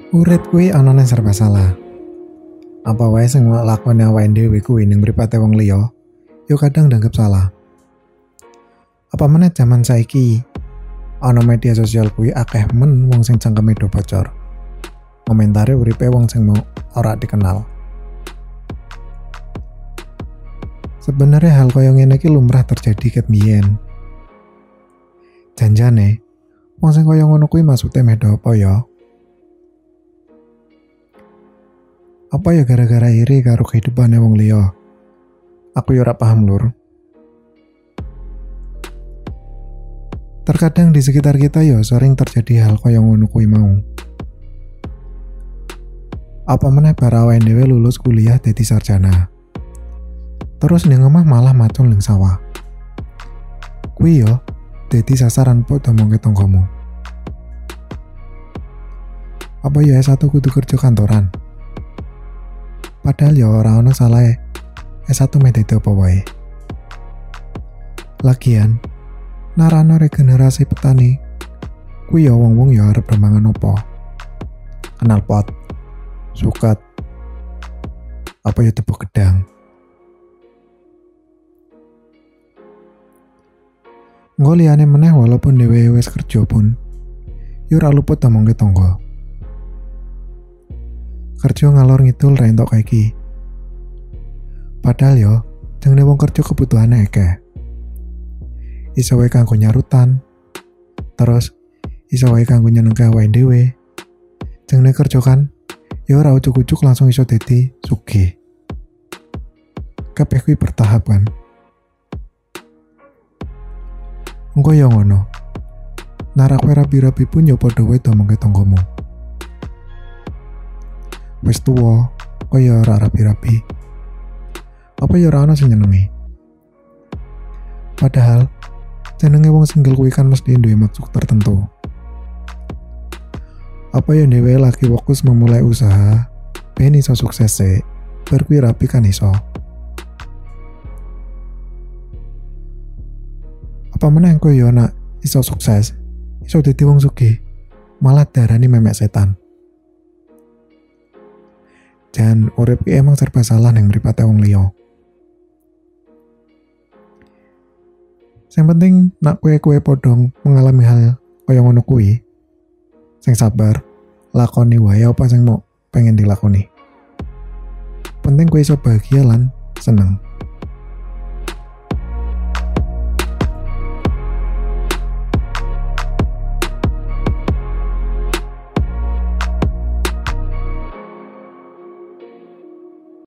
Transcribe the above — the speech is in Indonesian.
Urip kuwi ana nang serba salah. Apa wae sing lakone awake dhewe kuwi ning mripate wong liya, yo kadang dianggap salah. Apa meneh jaman saiki ana media sosial kuwi akeh men wong sing cangkeme do bocor. Komentare uripe wong sing mau ora dikenal. Sebenarnya hal kaya ngene iki lumrah terjadi ket biyen. Janjane, wong sing kaya ngono kuwi maksude meh do apa ya? Apa ya gara-gara iri karo kehidupane wong liya? Aku ya ora paham, Lur. Terkadang di sekitar kita ya sering terjadi hal kaya ngono kuwi mau. Apa meneh para awake dhewe lulus kuliah dadi sarjana. Terus ning omah malah macul ning sawah. Kuwi yo dadi sasaran podo mongke tanggamu. Apa ya S1 kudu kerja kantoran? Padahal ya ora ono salahe S1 meh dadi apa wae. Lagian narano regenerasi petani kuwi ya wong-wong ya arep remangan opo? Kenal pot, suket, apa ya tepuk gedang. Engko liyane meneh walaupun dhewe wis kerja pun ya ora luput omongke tangga. Kerja ngalor ngidul ra entuk kaiki. Padahal yo jenenge wong kerja kebutuhane akeh. Iso wae kanggo nyarutan. Terus iso wae kanggo nyenengke awake dhewe. Jenenge kerja kan yo ora ujug-ujug langsung iso dadi sugih. Kabeh kuwi bertahap kan. Engko yo ngono. Narak rabi-rabi pun yo padha wae domongke tanggamu. Wis tuwa, kaya ora rapi-rapi. Apa ya ora ana sing nyenengi? Padahal jenenge wong single kuwi kan mesti duwe maksud tertentu. Apa ya dhewe lagi fokus memulai usaha, ben iso sukses sih, bar kuwi rapi kan iso. Apa meneh engko ya nak iso sukses, iso dadi wong sugih, malah darani memek setan. Dan urip ki emang serba salah ning mripate wong liya. Sing penting nak kowe podong mengalami hal kaya ngono kuwi. Sing sabar, lakoni wae apa sing mau pengen dilakoni. Penting kowe iso bahagia lan seneng.